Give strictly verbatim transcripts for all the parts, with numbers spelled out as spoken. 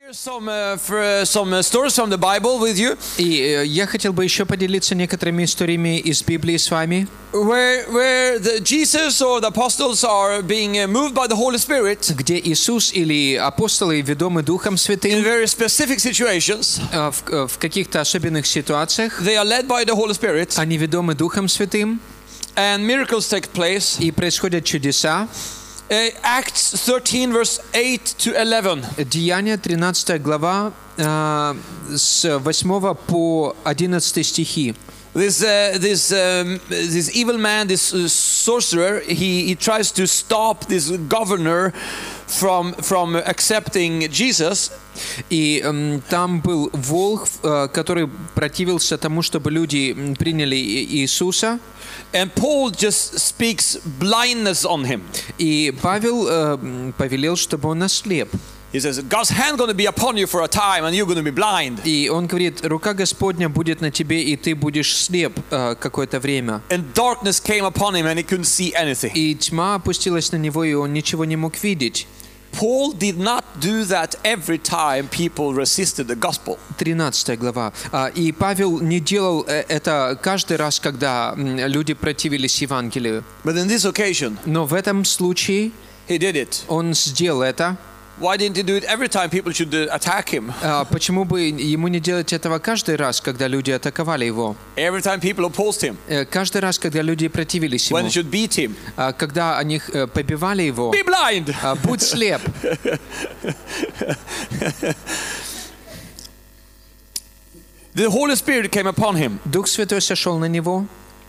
Some, uh, for, some stories from the Bible with you. И я хотел бы еще поделиться некоторыми историями из Библии с вами, Where, where the Jesus or the apostles are being uh, moved by the Holy Spirit где Иисус или апостолы, ведомы Духом in Святым, very specific situations. э, в, в каких-то особенных ситуациях, They are led by the Holy Spirit, они ведомы Духом Святым, and miracles take place. и происходят чудеса. Uh, Acts thirteen, verse eight to eleven. Деяния, тринадцатая глава, э, с восьмого по одиннадцатый стихи. This uh, this um, this evil man, this uh, sorcerer, he he tries to stop this governor from from accepting Jesus. И эм, там был волхв, э, который противился тому, чтобы люди м, приняли И- Иисуса. And Paul just speaks blindness on him. И Павел э, м, повелел, чтобы он ослеп. He says, God's hand going to be upon you for a time and you're going to be blind. И он говорит, рука Господня будет на тебе, и ты будешь слеп э, какое-то время. And darkness came upon him and he couldn't see anything. И тьма опустилась на него, и он ничего не мог видеть. Paul did not do that every time people resisted the gospel. тринадцатая глава. А, И Павел не делал э, это каждый раз, когда м, люди противились Евангелию. But in this occasion, Но в этом случае he did it. он сделал это. Why didn't he do it every time people should uh, attack him? А, Почему бы ему не делать этого каждый раз, когда люди атаковали его? Every time people opposed him? Э, Каждый раз, когда люди противились When ему. they should beat him? А, Когда они э, побивали его. Be blind! а, Будь слеп. The Holy Spirit came upon him. Дух Святой сошел на него.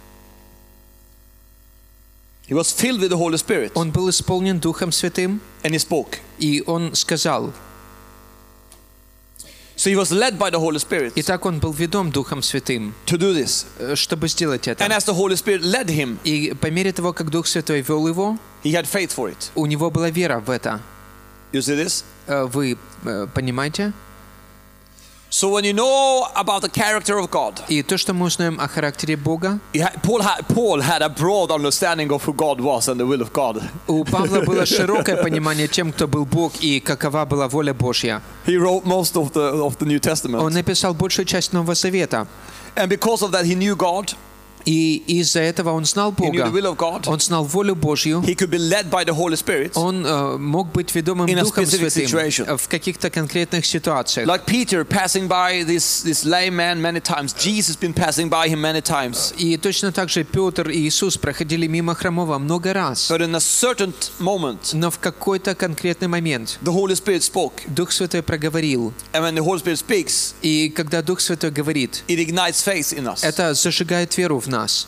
He was filled with the Holy Spirit Он был исполнен Духом Святым, and he spoke. и он сказал. So he was led by the Holy Spirit Итак, он был ведом Духом Святым, to do this. э, чтобы сделать это. And as the Holy Spirit led him, И по мере того, как Дух Святой вел его, he had faith for it. у него была вера в это. You see this? Э, Вы э, понимаете? So when you know about the character of God, И то, что мы узнаем о характере Бога, he had, Paul, had, Paul had a broad understanding of who God was and the will of God. у Павла было широкое понимание тем, кто был Бог и какова была воля Божья. He wrote most of the, of the New Он Testament. написал большую часть Нового Завета. And because of that, he knew God. И из-за этого он знал He knew the Бога. will of God. Он знал волю Божью. He could be led by the Holy Spirit. Он э, мог быть ведомым In a Духом specific Святым situation. э, в каких-то конкретных ситуациях. Like Peter passing by this, this lame man many times. Jesus been passing by him many times. И точно так же Петр и Иисус проходили мимо хромого много раз. But in a certain moment, Но в какой-то конкретный момент the Holy Spirit spoke. Дух Святой проговорил. And when the Holy Spirit speaks, И когда Дух Святой говорит, it ignites faith in us. это зажигает веру в нас.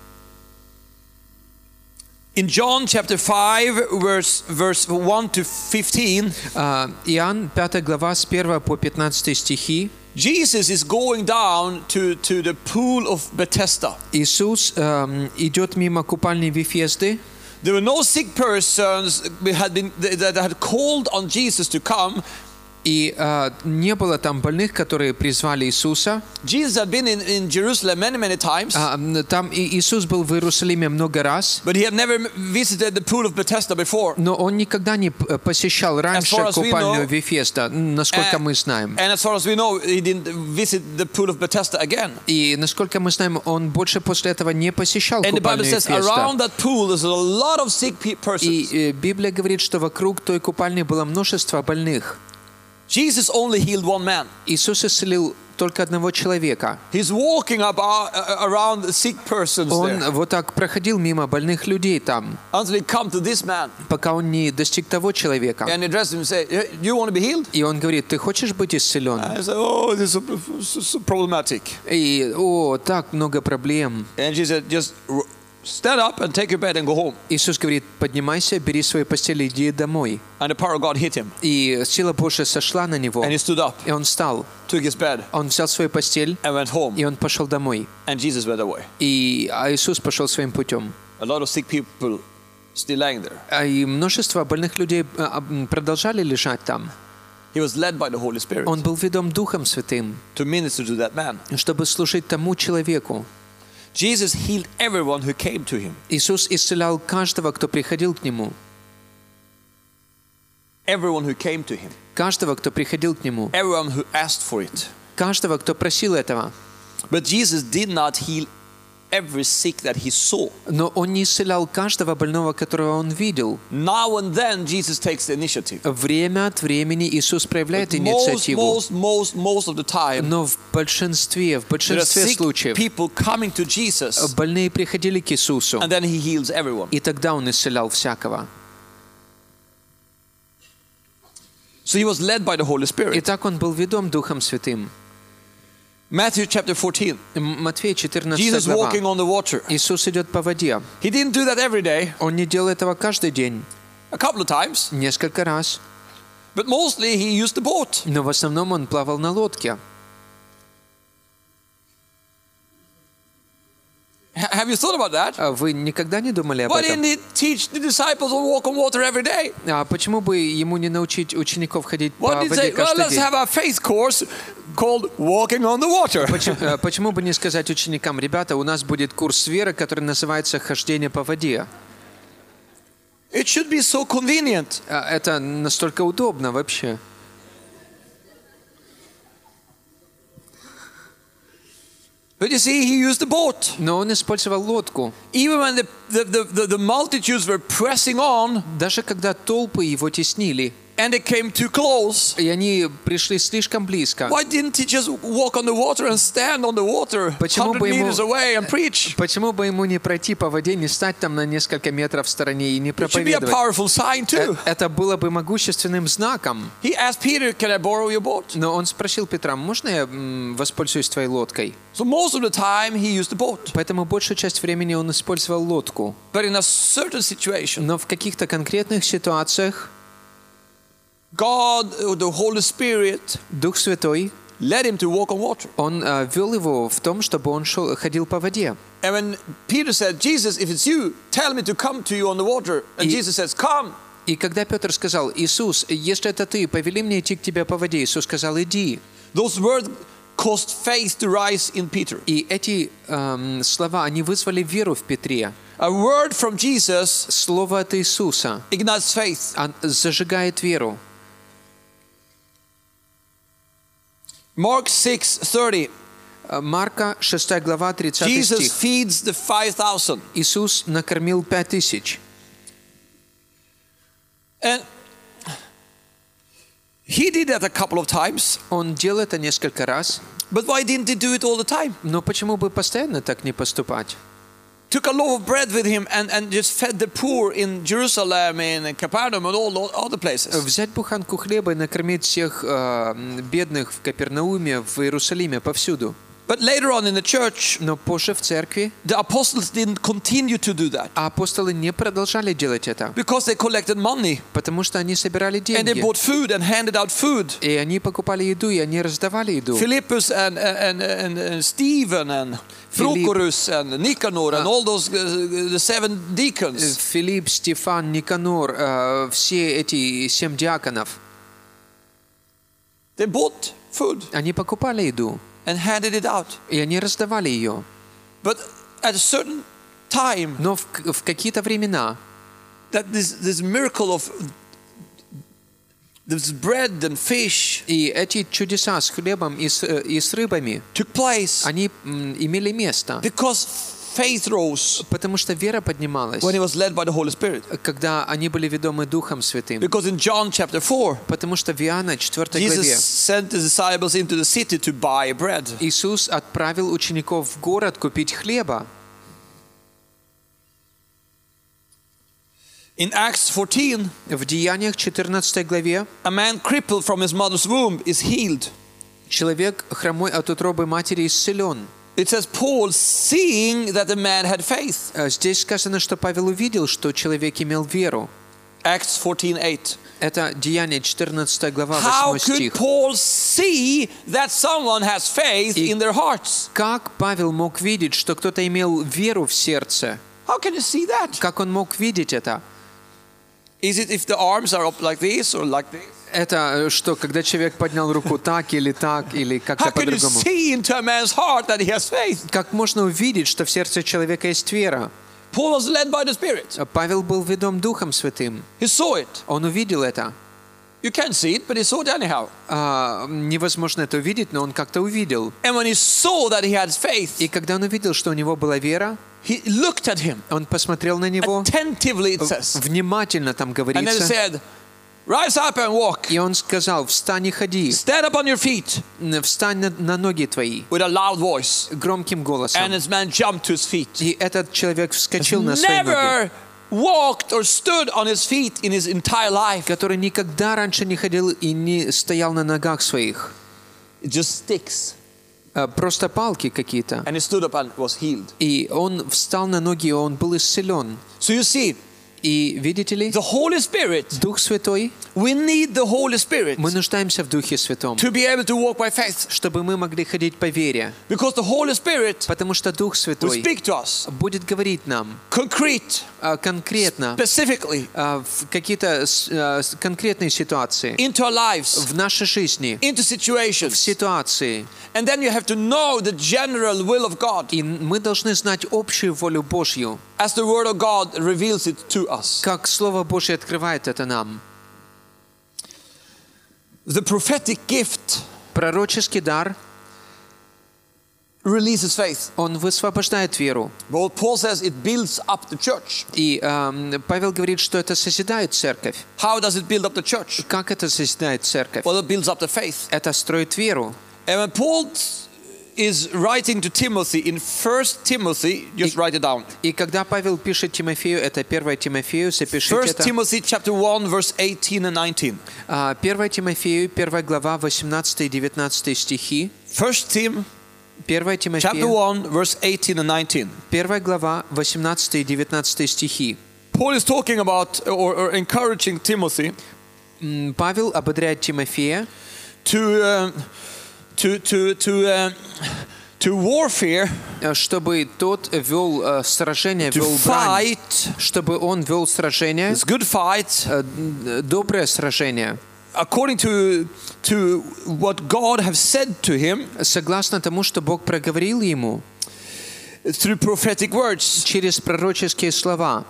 In John chapter five, verse, verse one to fifteen, А, Иоанн, пятая глава, с первого по пятнадцатый стихи. Jesus is going down to, to the pool of Bethesda. Иисус эм, идет мимо купальни Вифезды. There were no sick persons had been, that had called on Jesus to come. И э, не было там больных, которые призвали Иисуса. Jesus had been in, in Jerusalem many, many times, А, м, там и Иисус был в Иерусалиме много раз, but he had never visited the pool of Bethesda before. но он никогда не п- посещал раньше far as we купальню know, Вифезда, насколько and- мы знаем. And as far as we know, he didn't visit the pool of Bethesda again. И насколько мы знаем, он больше после этого не посещал And the Bible купальню says Вифезда. around that pool there's a lot of sick pe- И persons. э, Библия говорит, что вокруг той купальни было множество больных. Jesus only healed one man. Иисус исцелил только одного человека. He's walking about, uh, around the sick persons Он there вот так проходил мимо больных людей там, until he come to this man пока он не достиг того человека. and address him and say, "Do you want to be healed?" И он говорит, ты хочешь быть исцелен? I said, "Oh, this is so, so, so problematic." И, о, так много проблем. And she said, "Just r- stand up and take your bed and go home." Иисус говорит, поднимайся, бери свою постель и иди домой. And the power of God hit him, И сила Божья сошла на него. and he stood up, И он встал. took his bed, Он взял свою постель, and went home. и он пошел домой. And Jesus went away. И а Иисус пошел своим путем. A lot of sick people still lying there. А И множество больных людей а, м, продолжали лежать там. He was led by the Holy Spirit Он был ведом Духом Святым, to minister to that man. чтобы служить тому человеку. Jesus healed everyone who came to him. Иисус исцелял каждого, кто приходил к Нему. everyone who came to him, каждого, кто приходил к нему, everyone who asked for it. каждого, кто просил этого. But Jesus did not heal every sick that he saw. Но он не исцелял каждого больного, которого он видел. Now and then Jesus takes the initiative. Время от времени Иисус проявляет Most, инициативу. most, most, most of the time, Но в большинстве, в there are большинстве sick случаев people coming to Jesus, больные приходили к Иисусу, and then he heals everyone. и тогда он исцелял всякого. So he was led by the Holy Spirit. Итак, он был ведом Духом Святым. Matthew chapter fourteen. М- Матфея четырнадцатая Jesus глава. walking on the water. Иисус идет по воде. He didn't do that every day. Он не делал этого каждый день, A couple of times. несколько раз. But mostly he used the boat. Но в основном он плавал на лодке. H- have you thought about that? А вы никогда не думали об Why этом? didn't he teach the disciples to walk on water every day? А почему бы ему не научить учеников ходить по Why did he воде say, well, каждый let's день? have a faith course called Walking on the Water? Почему, э, почему бы не сказать ученикам, ребята, у нас будет курс веры, который называется «Хождение по воде». It should be so convenient. А это настолько удобно вообще. But you see, he used the boat. Но он использовал лодку. Even when the, the, the, the, the multitudes were pressing on Даже когда толпы его теснили, and they came too close, и они пришли слишком близко, why didn't he just walk on the water and stand on the water Почему one hundred бы ему- meters away and preach? почему бы ему не пройти по воде, не стать там на несколько метров в стороне и не It should be a проповедовать? powerful sign Э, too. Это было бы могущественным знаком. He asked Peter, can I borrow your boat? Но он спросил Петра, можно я м, воспользуюсь твоей лодкой? So most of the time he used the boat. Поэтому большую часть времени он использовал лодку. But in a certain situation, Но в каких-то конкретных ситуациях God, uh, the Holy Spirit, Дух Святой, led him to walk on water. он э, вел его в том, чтобы он шел, ходил по воде. And when Peter said, Jesus, if it's you, tell me to come to you on the water. And И- Jesus says, come. И когда Петр сказал, Иисус, если это ты, повели мне идти к тебе по воде, Иисус сказал, иди. Those words caused faith to rise in Peter. И эти эм, слова, они вызвали веру в Петре. A word from Jesus Слово от Иисуса ignites faith. он зажигает веру. Mark six thirty. Э, Марка шестая глава, тридцатый Jesus стих. feeds the five thousand. Иисус накормил пять тысяч. And he did that a couple of times. Он делал это несколько раз. But why didn't he do it all the time? Но почему бы постоянно так не поступать? Took a loaf of bread with him and, and just fed the poor in Jerusalem, in Capernaum, and all those other places. Взять буханку хлеба и накормить всех э, бедных в Капернауме, в Иерусалиме, повсюду. But later on in the church, Но позже в церкви the apostles didn't continue to do that а апостолы не продолжали делать это, because they collected money потому что они собирали and they деньги. bought food and handed out food. И они покупали еду, и они раздавали еду. Philippus and, and, and, and Stephen and Philip- Prochorus and Nicanor and all those uh, the seven deacons. Филипп, Стефан, Никанор, э, все эти семь диаконов, They bought food они покупали еду, and handed it out. и они раздавали ее. But at a certain time, Но в, в какие-то времена that this, this miracle of this bread and fish и эти чудеса с хлебом и с, э, и с рыбами, took place они м, имели место, because faith rose потому что вера поднималась, when he was led by the Holy Spirit. когда они были ведомы Духом Святым. Because in John chapter four, Потому что в Иоанна четвёртой главе Jesus sent the disciples into the city to buy bread. Иисус отправил учеников в город купить хлеба. In Acts fourteen, В Деяниях четырнадцатой главе a man crippled from his mother's womb is healed. человек хромой от утробы матери исцелен. It says Paul, seeing that the man had faith. А Здесь сказано, что Павел увидел, что человек имел веру. Acts fourteen eight. Это Деяние четырнадцатая глава, How восьмой could стих. Paul see that someone has faith И- in their hearts? Как Павел мог видеть, что кто-то имел веру в сердце? How can you see that? Как он мог видеть это? Is it if the arms are up like this or like this? Это что, когда человек поднял руку так или так, или How как-то can you по-другому? see into a man's heart that he has faith? Как можно увидеть, что в сердце человека есть вера? Paul was led by the Spirit. Павел был ведом Духом Святым. He saw it. Он увидел это. You can't see it, but he saw it anyhow. А, невозможно это увидеть, но он как-то увидел. And when he saw that he had faith, И когда он увидел, что у него была вера, he looked at him он посмотрел на него, attentively, it says. внимательно там And then he говорится, said, rise up and walk. и он сказал: «Встань и ходи, Stand up on your feet встань на, на ноги твои», with a loud voice. громким голосом. And this man jumped to his feet. И этот человек вскочил на свои ноги, Never walked or stood on his feet in his entire life. который никогда раньше не ходил и не стоял на ногах своих. Just sticks. А, Просто палки какие-то. And he stood up and was healed. И он встал на ноги, и он был исцелен. So you see, И видите ли, the Holy Spirit, Дух Святой, we need the Holy Spirit мы нуждаемся в Духе Святом, to be able to walk by faith. чтобы мы могли ходить по вере. Because the Holy Spirit Потому что Дух will Святой speak to us будет говорить нам concrete, а, конкретно, specifically, а, в какие-то с- а, с- конкретные ситуации, into our lives, в нашей жизни, into в situations. ситуации. And then you have to know the general will of God И мы должны знать общую волю Божью, as the Word of God reveals it to us. как Слово Божье открывает это нам. The prophetic gift Пророческий дар, releases faith. он высвобождает веру. But Paul says it builds up the church. И эм, Павел говорит, что это созидает церковь. How does it build up the church? Как это созидает церковь? Well, it builds up the faith. Это строит веру. And when Paul is writing to Timothy in First Timothy, just write it down. И когда Павел пишет Тимофею, это первое Тимофею, запишите First это. Timothy chapter one, verse eighteen and nineteen. А, первое Тимофею, первая глава, восемнадцатый и девятнадцатый стихи. First Tim первое chapter Тимофею, one, verse eighteen and nineteen. первая глава, восемнадцатый и девятнадцатый стихи. Paul is talking about or, or encouraging Timothy М, Павел ободряет Тимофея to uh, to to to uh, to warfare, э, чтобы тот вел э, сражение, to вел брань, fight. чтобы он вел сражение, It's good fight э, д- доброе сражение, according to to what God have said to him согласно тому, что Бог проговорил ему through prophetic words, через пророческие слова,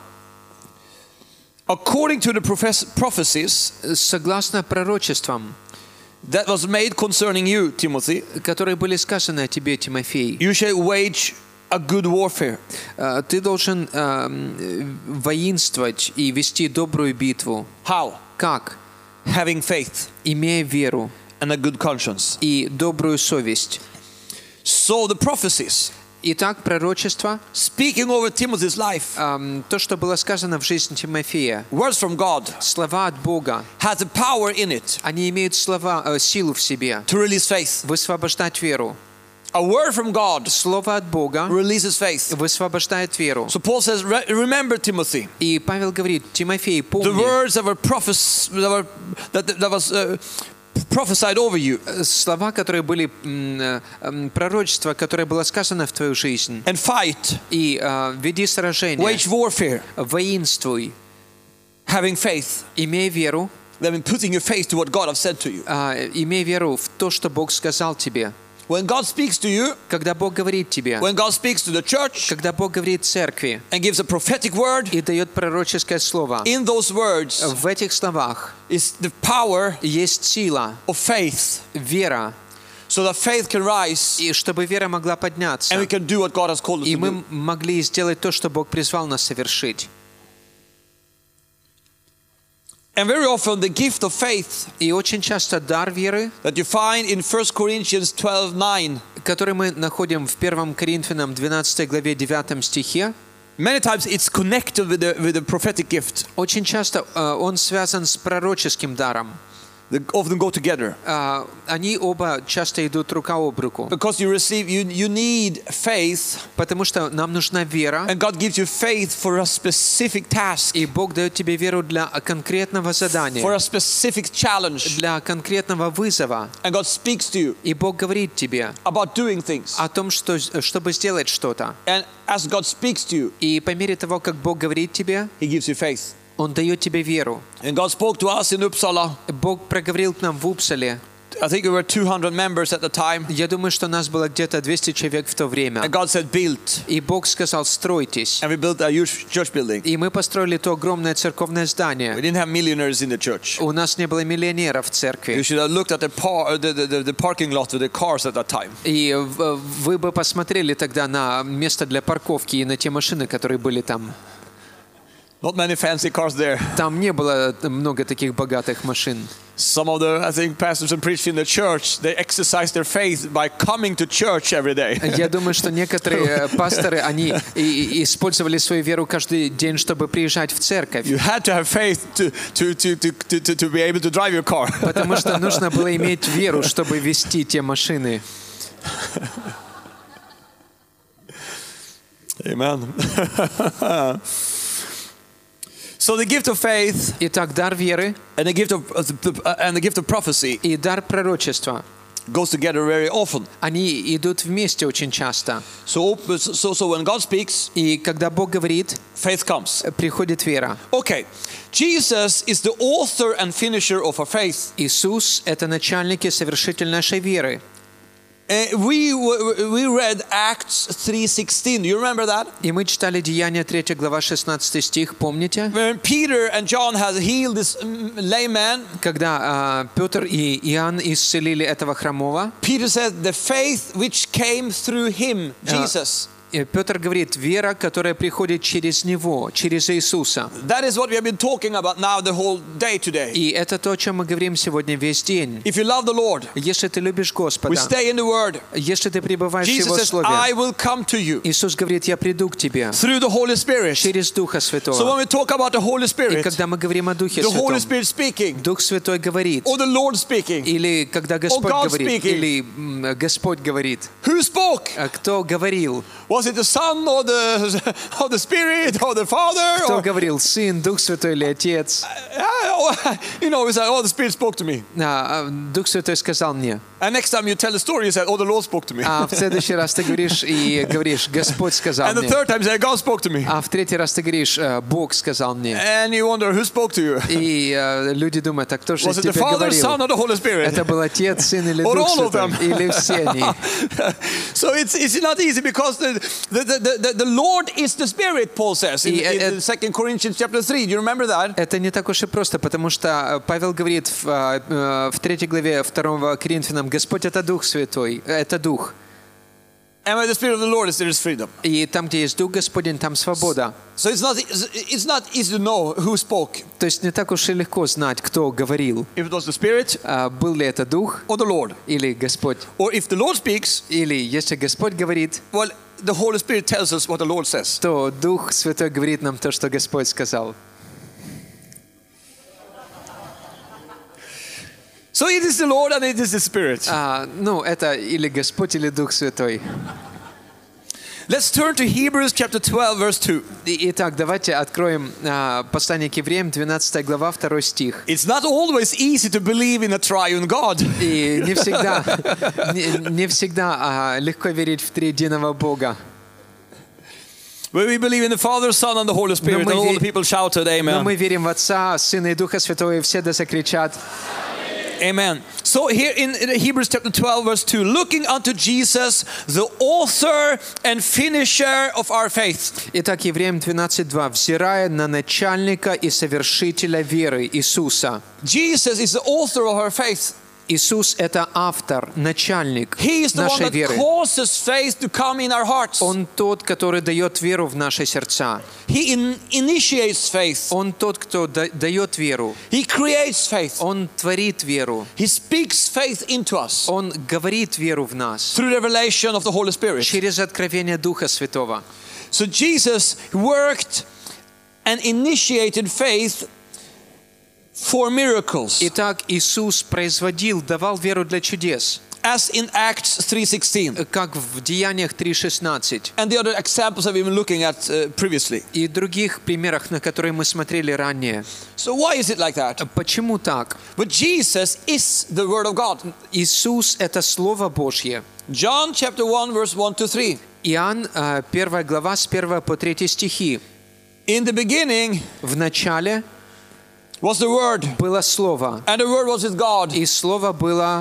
according to the prophes- prophecies согласно пророчествам, that was made concerning you, Timothy. которые были сказаны о тебе, Тимофей. You shall wage a good warfare. Э, Ты должен э, воинствовать и вести добрую битву. How? Как? Having faith Имея веру and a good conscience. и добрую совесть. So the prophecies Итак, пророчество, speaking over Timothy's life, эм, то, что было сказано в жизни Тимофея, words from God, слова от Бога, has a power in it они имеют слова, э, силу в себе, to release faith. высвобождать веру. A word from God Слово от Бога releases faith. высвобождает веру. So Paul says, "Re- remember, Timothy, И Павел говорит: Тимофей, the помни, words that were, prophes- that, were that, that was uh, prophesied over you, слова, которые были м, э, м, пророчество, которое было сказано в твою жизнь. and fight, И э, веди сражение, wage warfare, воинствуй, having faith." имей веру, That means putting your faith to what God has said to you. э, имей веру в то, что Бог сказал тебе. When God speaks to you, Когда Бог говорит тебе, when God speaks to the church когда Бог говорит церкви and gives a prophetic word, и дает пророческое слово, in those words в этих словах is the power есть сила, of faith, вера, so that faith can rise и чтобы вера могла подняться, and we can do what God has called us и to мы do. могли сделать то, что Бог призвал нас совершить. And very often the gift of faith И очень часто дар веры, that you find in First Corinthians twelve nine, который мы находим в первом Коринфянам двенадцатой главе девятом стихе, many times it's connected with the, with the prophetic gift. очень часто э, он связан с пророческим даром. They often go together. Э, Они оба часто идут рука об руку, Because you receive, you, you need faith, потому что нам нужна вера, and God gives you faith for a specific task, и Бог дает тебе веру для конкретного for задания, a specific challenge. для конкретного вызова. And God speaks to you И Бог говорит тебе about doing things. о том, что, чтобы сделать что-то. And as God speaks to you, И по мере того, как Бог говорит тебе, He gives you faith. Он дает тебе веру. And God spoke to us in Uppsala Бог проговорил к нам в Упсале I think we were two hundred members at the time. Я думаю, что нас было где-то двести человек в то время. And God said, build. И Бог сказал, стройтесь. And we built a huge church building. И мы построили то огромное церковное We здание. didn't have millionaires in the church. У нас не было миллионеров в You церкви. should have looked at the, par, the, the, the parking lot with the cars at that time. И в- вы бы посмотрели тогда на место для парковки и на те машины, которые были там. Not many fancy cars there. Там не было много таких богатых машин. Some of the, I think, pastors and preachers in the church, they exercise their faith by coming to church every day. Я думаю, что некоторые пасторы, они и- и использовали свою веру каждый день, чтобы приезжать в церковь. You had to have faith to, to, to, to, to, to be able to drive your car. Потому что нужно было иметь веру, чтобы вести те машины. Amen. So the gift of faith Итак, дар веры and the gift of uh, and the gift of prophecy и дар пророчества, goes together very often. они идут вместе очень часто. So so so when God speaks, И когда Бог говорит, faith comes. приходит вера. Okay, Jesus is the author and finisher of our faith. Иисус — это начальник и совершитель нашей веры. Uh, we we read Acts three sixteen. Do you remember that? И мы читали Деяния третья глава шестнадцатый стих, помните? When Peter and John had healed this um, lame man, Когда а, Петр и Иоанн исцелили этого хромого, Peter said, "The faith which came through him, Jesus." и Петр говорит, вера, которая приходит через Него, через Иисуса. That is what we have been talking about now the whole day today. И это то, о чем мы говорим сегодня весь день. If you love the Lord, Если ты любишь we Господа, stay in the Word. если ты пребываешь в Jesus Его says, Слове, "I will come to you Иисус говорит, я приду к тебе through the Holy Spirit." через Духа So when Святого. we talk about the Holy И Spirit, когда мы говорим о Духе the Holy Святом, Spirit speaking, Дух Святой говорит, or the Lord speaking, или когда Господь God говорит, speaking. или м, Господь говорит, who spoke? а кто говорил? Was it the Son or the or the Spirit or the Father? Кто Or, говорил? Сын, Дух Святой или Отец? you know, we say, "Oh, the Spirit spoke to me." А, а, Дух Святой сказал мне. And next time you tell the story, you say, "Oh, the Lord spoke to me." А в следующий раз ты говоришь и говоришь, Господь сказал And the мне. third time you say, "God spoke to me." А в третий раз ты говоришь, «Э, Бог сказал мне. And you wonder who spoke to you. И э, люди думают, а кто же Was it the тебе Father, говорил? Son, or the Holy Spirit? Это был Отец, Сын или Or Дух all of Святой? them. Или все они? So it's it's not easy because the the, the, the, the Lord is the Spirit, Paul says in, И, э, in Second Corinthians chapter three. Do you remember that? Это не так уж и просто, потому что Павел говорит в, э, в третьей главе второго Коринфянам, Господь — это Дух Святой, это Дух. And where the Spirit of the Lord is, there is freedom. И там, где есть Дух Господень, там свобода. So it's not it's not easy to know who spoke. То есть не так уж и легко знать, кто говорил. If it was the Spirit А, был ли это Дух or the Lord. или Господь. Or if the Lord speaks, Или если Господь говорит, well, the Holy Spirit tells us what the Lord says. то Дух Святой говорит нам то, что Господь сказал. So it is the Lord and it is the Spirit. А, ну, это или Господь, или Дух Святой. Let's turn to Hebrews chapter twelve, verse two. И- Итак, давайте откроем а, послание к евреям, двенадцатая глава, второй стих. It's not always easy to believe in a triune God. И не всегда, не, не всегда а, легко верить в триединого Бога. Where we believe in the Father, Son, and the Holy Spirit, and мы all ве- the people shouted, Но Amen. мы верим в Отца, Сына и Духа Святого, и все да закричат. Amen. So here in, in Hebrews chapter twelve, verse two, looking unto Jesus, the author and finisher of our faith. Итак, Евреям двенадцать два. «Взирая на начальника и совершителя веры Иисуса». Jesus is the author of our faith. Иисус — это автор, начальник He is the one нашей that веры. causes faith to come in our hearts. Он тот, который дает веру в наши сердца. He in, initiates faith. Он тот, кто да- дает веру. He creates faith. Он творит веру. He speaks faith into us Он говорит веру в нас through the revelation of the Holy Spirit. через откровение Духа Святого. So Jesus worked and initiated faith for miracles, Итак, Иисус производил, давал веру для чудес, as in Acts three sixteen. как в Деяниях три шестнадцать. And the other examples that we've been looking at uh, previously. И других примерах, на которые мы смотрели ранее. So why is it like that? Почему так? But Jesus is the Word of God. Иисус — это Слово Божье. John chapter one, verse one to three. Иоанн, э, первая глава, с первого по третий стихи. In the beginning В начале was the Word, было Слово, and the Word was with God, и Слово было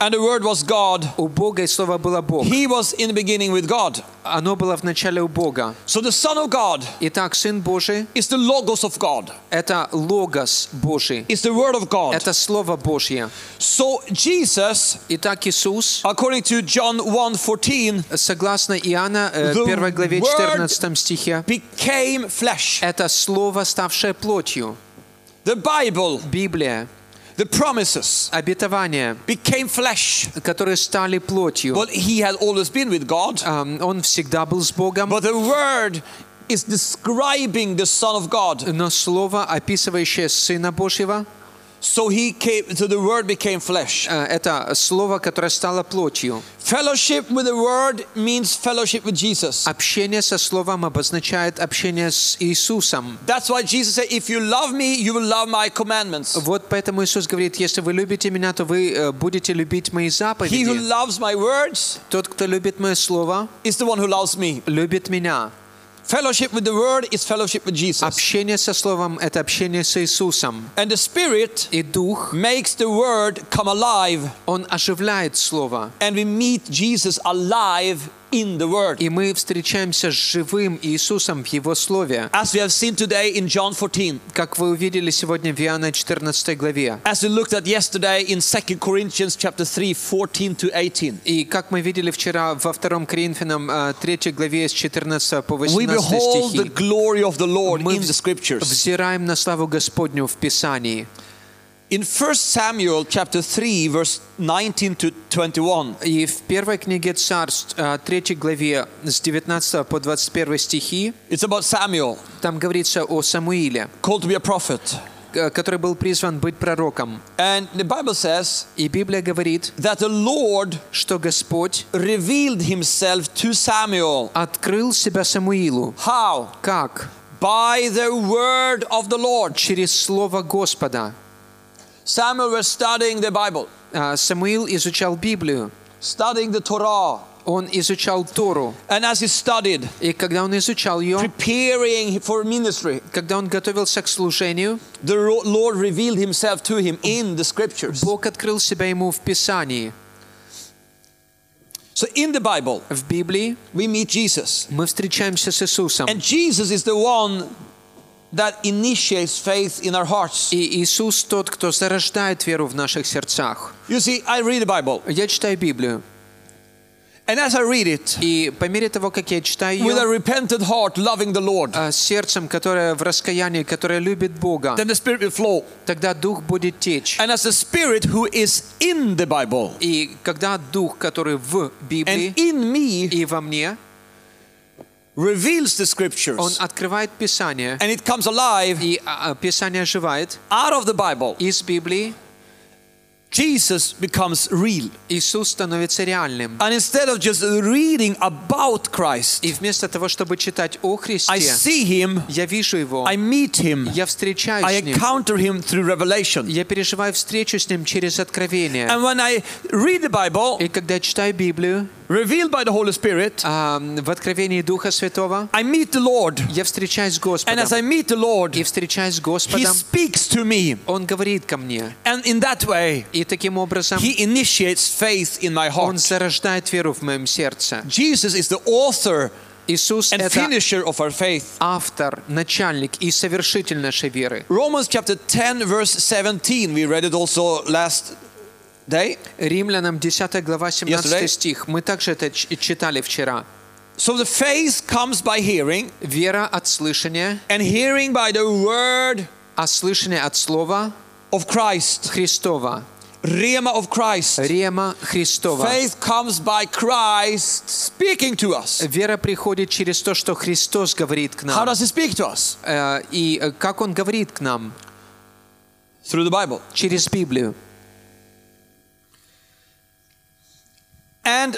and the Word was God. У Бога, и Слово было Бог. He was in the beginning with God. Оно было в начале у Бога. So the Son of God Итак, Сын Божий is the Logos of God. — это Логос Божий. It's the Word of God. Это Слово Божье. So Jesus, Итак, Иисус, according to John one fourteen, согласно Иоанна, э, The первой главе Word четырнадцатом стихе, became flesh. это Слово, ставшее плотью. The Bible, Библия, the promises, обетования, became flesh. которые стали плотью. Well, he had always been with God, Ам, Он всегда был с Богом, but the Word is describing the Son of God. но Слово, описывающее Сына Божьего, So he came. So the Word became flesh. э, это Слово, которое стало плотью. Fellowship with the Word means fellowship with Jesus. Общение со Словом обозначает общение с Иисусом. That's why Jesus said, "If you love me, you will love my commandments." Вот поэтому Иисус говорит: если вы любите Меня, то вы э, будете любить Мои He who заповеди. loves my words Тот, кто любит Мое Слово, is the one who loves me. любит Меня. Fellowship with the Word is fellowship with Jesus. Общение со Словом — это общение с Иисусом. And the Spirit И Дух, makes the Word come alive, Он оживляет Слово. and we meet Jesus alive in the Word. И мы встречаемся с живым Иисусом в Его Слове. As we have seen today in John fourteen, Как вы увидели сегодня в Иоанна четырнадцатой главе. as we looked at yesterday in Second Corinthians chapter three, fourteen to eighteen. И как мы видели вчера во втором Коринфянам э, третьей главе с четырнадцатого по We восемнадцатый behold the стихи. glory of the Lord Мы in the Scriptures. взираем на славу Господню в Писании. In First Samuel chapter three, verse nineteen to twenty-one, И в первой книге Царств, э, третьей главе с девятнадцатого по двадцать первый стихи, it's about Samuel, там говорится о Самуиле, called to be a prophet. э, который был призван быть пророком. And the Bible says И Библия говорит, that the Lord что Господь revealed himself to Samuel. открыл себя Самуилу. How? Как? By the word of the Lord. Через Слово Господа. Samuel was studying the Bible, А, Самуил изучал Библию, studying the Torah. он изучал Тору. And as he studied, И когда он изучал ее, preparing for ministry, когда он готовился к служению, the Ro- Lord revealed himself to him in the Scriptures. Бог открыл себя ему в Писании. So in the Bible, В Библии we meet Jesus. мы встречаемся с Иисусом. And Jesus is the one that initiates faith in our hearts. И Иисус тот, кто зарождает веру в наших сердцах. You see, I read the Bible, Я читаю Библию. and as I read it, И по мере того, как я читаю with a ее, repentant heart, loving the Lord, а, с сердцем, которое в раскаянии, которое любит Бога, then the Spirit will flow. тогда Дух будет течь. And as the Spirit who is in the Bible И когда Дух, который в Библии and in me и во мне, reveals the Он Scriptures, открывает Писание, and it comes alive и а, а, Писание оживает out of the Bible, из Библии, Jesus becomes real. Иисус становится реальным. And instead of just reading about Christ, И вместо того, чтобы читать о I Христе, see Him, я вижу Его, I meet Him, я встречаюсь I с Ним, encounter Him through revelation. я переживаю встречу с Ним через откровение. And when I read the Bible, И когда я читаю Библию, revealed by the Holy Spirit, а, в откровении Духа Святого, I meet the Lord. я встречаюсь с And Господом. as I meet the Lord, И встречаюсь с He Господом, speaks to me. Он говорит ко мне. And in that way, И таким образом He initiates faith in my Он heart. зарождает веру в моем сердце. Jesus is the author Иисус — and это finisher of our faith. автор, начальник и совершитель нашей веры. Romans chapter ten, verse seventeen, we read it also last day. Римлянам десятая глава семнадцатый Yesterday. стих. Мы также это ч- читали вчера. So the faith comes by hearing, Вера от слышания, and hearing by the word а слышание от слова of Christ. Христова. Rema of Christ. Рема Христова. Faith comes by Christ speaking to us. Вера приходит через то, что Христос говорит к How нам. does He speak to us? Э, И э, как Он говорит к нам? Through the Bible. Через Библию. And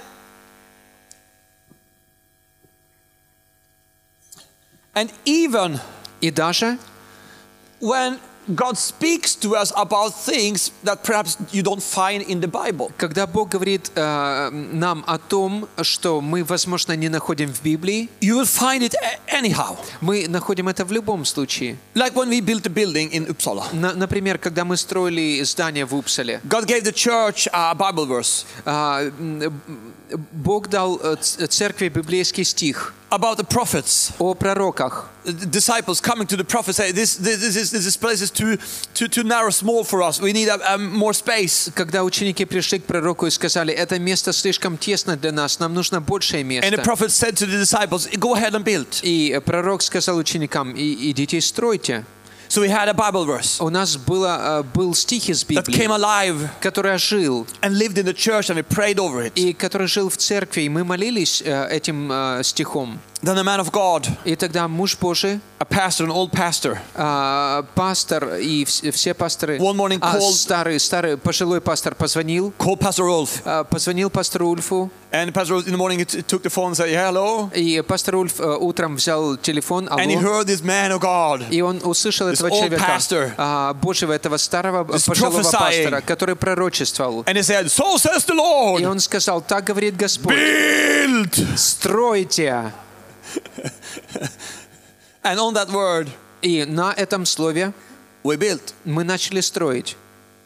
and even И даже when God speaks to us about things that perhaps you don't find in the Bible. Когда Бог говорит э, нам о том, что мы, возможно, не находим в Библии, You will find it anyhow. мы находим это в любом случае. Like when we built a building in Uppsala. На, например, когда мы строили здание в Упсале, God gave the church a Bible verse а, м, Бог дал э, ц- церкви библейский стих about the prophets. о пророках. The disciples coming to the prophet say, this, this, this, is, this place is too, too, too narrow, small for us. We need a, a more space. Когда ученики пришли к пророку и сказали, это место слишком тесно для нас, нам нужно большее And the место. prophet said to the disciples, go ahead and build. И пророк сказал ученикам, «И- идите и стройте». So we had a Bible verse У нас было, э, был стих из that came Библии, alive который ожил, and lived in the church, and we prayed over it. и который жил в церкви, и мы молились э, этим э, стихом. Then a man of God, И тогда муж Божий, a pastor, an old pastor, э, пастор и вс- все пасторы, One morning а, called- старый, старый пожилой пастор позвонил, called Pastor Ulf. э, позвонил пастору Ульфу, And Pastor Ulf in the morning he t- took the phone and said, yeah, hello. и пастор Ульф э, утром взял телефон, And he алло, heard this man of God, и он услышал This этого old человека, pastor, а, Божьего, этого старого this пожилого prophesying. пастора, который пророчествовал. and he said, so says the И Lord, он сказал, так говорит Господь, build. стройте. And on that word, И на этом слове we built. мы начали строить.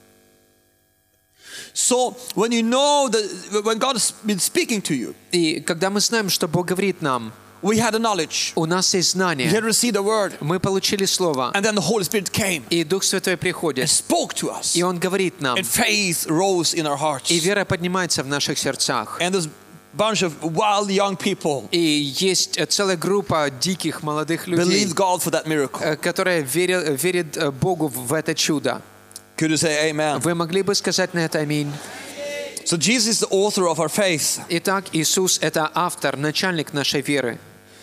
So when you know that, when God has been speaking to you, И когда мы знаем, что Бог говорит нам, we had a knowledge. у нас есть We had знание, received a word. мы получили слово, And then the Holy Spirit came и Дух Святой and приходит, spoke to us. и Он говорит нам, And faith rose in our hearts. и вера поднимается в наших сердцах. And this bunch of wild young people И есть целая группа диких молодых людей, believed God for that miracle. э, которая верит, верит э, Богу в это чудо. Could you say amen? Вы могли бы сказать на это аминь? So Jesus is the author of our faith. Итак, Иисус — это автор, начальник нашей веры.